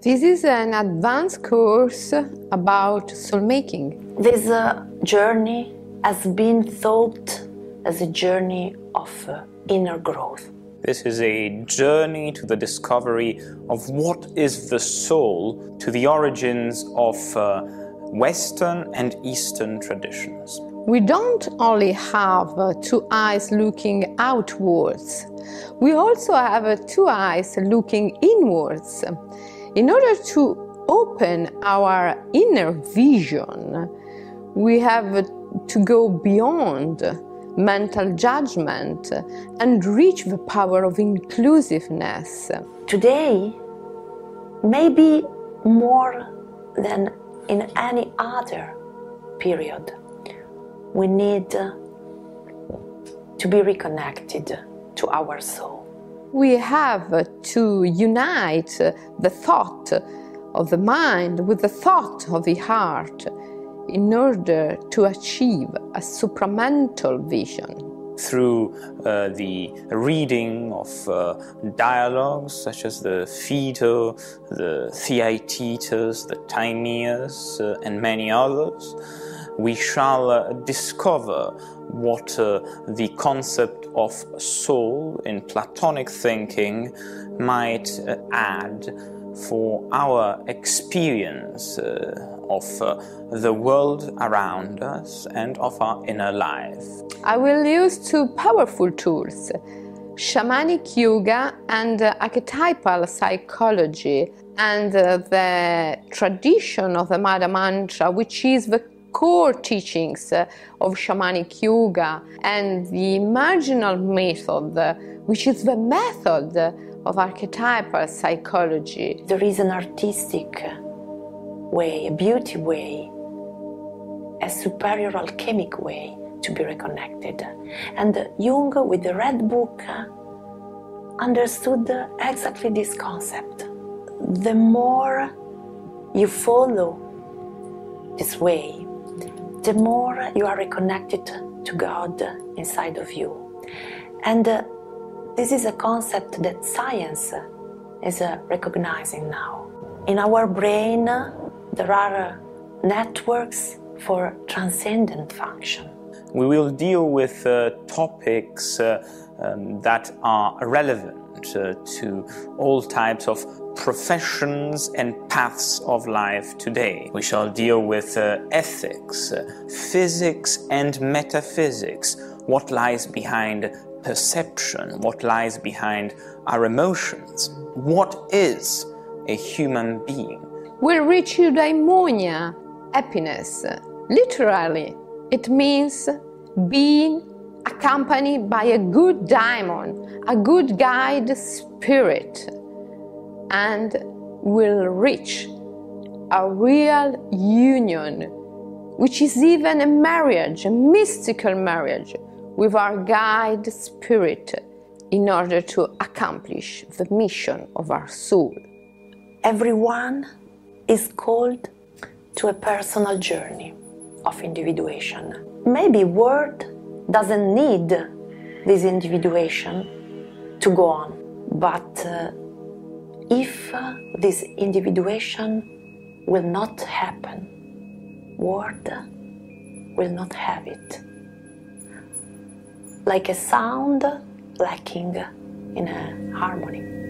This is an advanced course about soul making. This journey has been thought as a journey of inner growth. This is a journey to the discovery of what is the soul, to the origins of Western and Eastern traditions. We don't only have two eyes looking outwards, we also have two eyes looking inwards. In order to open our inner vision, we have to go beyond mental judgment and reach the power of inclusiveness. Today, maybe more than in any other period, we need to be reconnected to our soul. We have to unite the thought of the mind with the thought of the heart in order to achieve a supramental vision. Through the reading of dialogues such as the Phaedo, the Theaetetus, the Timaeus, and many others, we shall discover what the concept of soul in Platonic thinking might add for our experience of the world around us and of our inner life. I will use two powerful tools, shamanic yoga and archetypal psychology, and the tradition of the Mada Mantra, which is the core teachings of shamanic yoga, and the marginal method, which is the method of archetypal psychology. There is an artistic way, a beauty way, a superior alchemic way to be reconnected. And Jung, with the Red Book, understood exactly this concept. The more you follow this way, the more you are reconnected to God inside of you. And this is a concept that science is recognizing now. In our brain, there are networks for transcendent function. We will deal with topics that are relevant to all types of professions and paths of life today. We shall deal with ethics, physics and metaphysics, what lies behind perception, what lies behind our emotions, what is a human being. We'll reach eudaimonia, happiness. Literally, it means being accompanied by a good daimon, a good guide spirit, and will reach a real union, which is even a marriage, a mystical marriage with our guide spirit in order to accomplish the mission of our soul. Everyone is called to a personal journey of individuation. Maybe word doesn't need this individuation to go on, but if this individuation will not happen, word will not have it. Like a sound lacking in a harmony.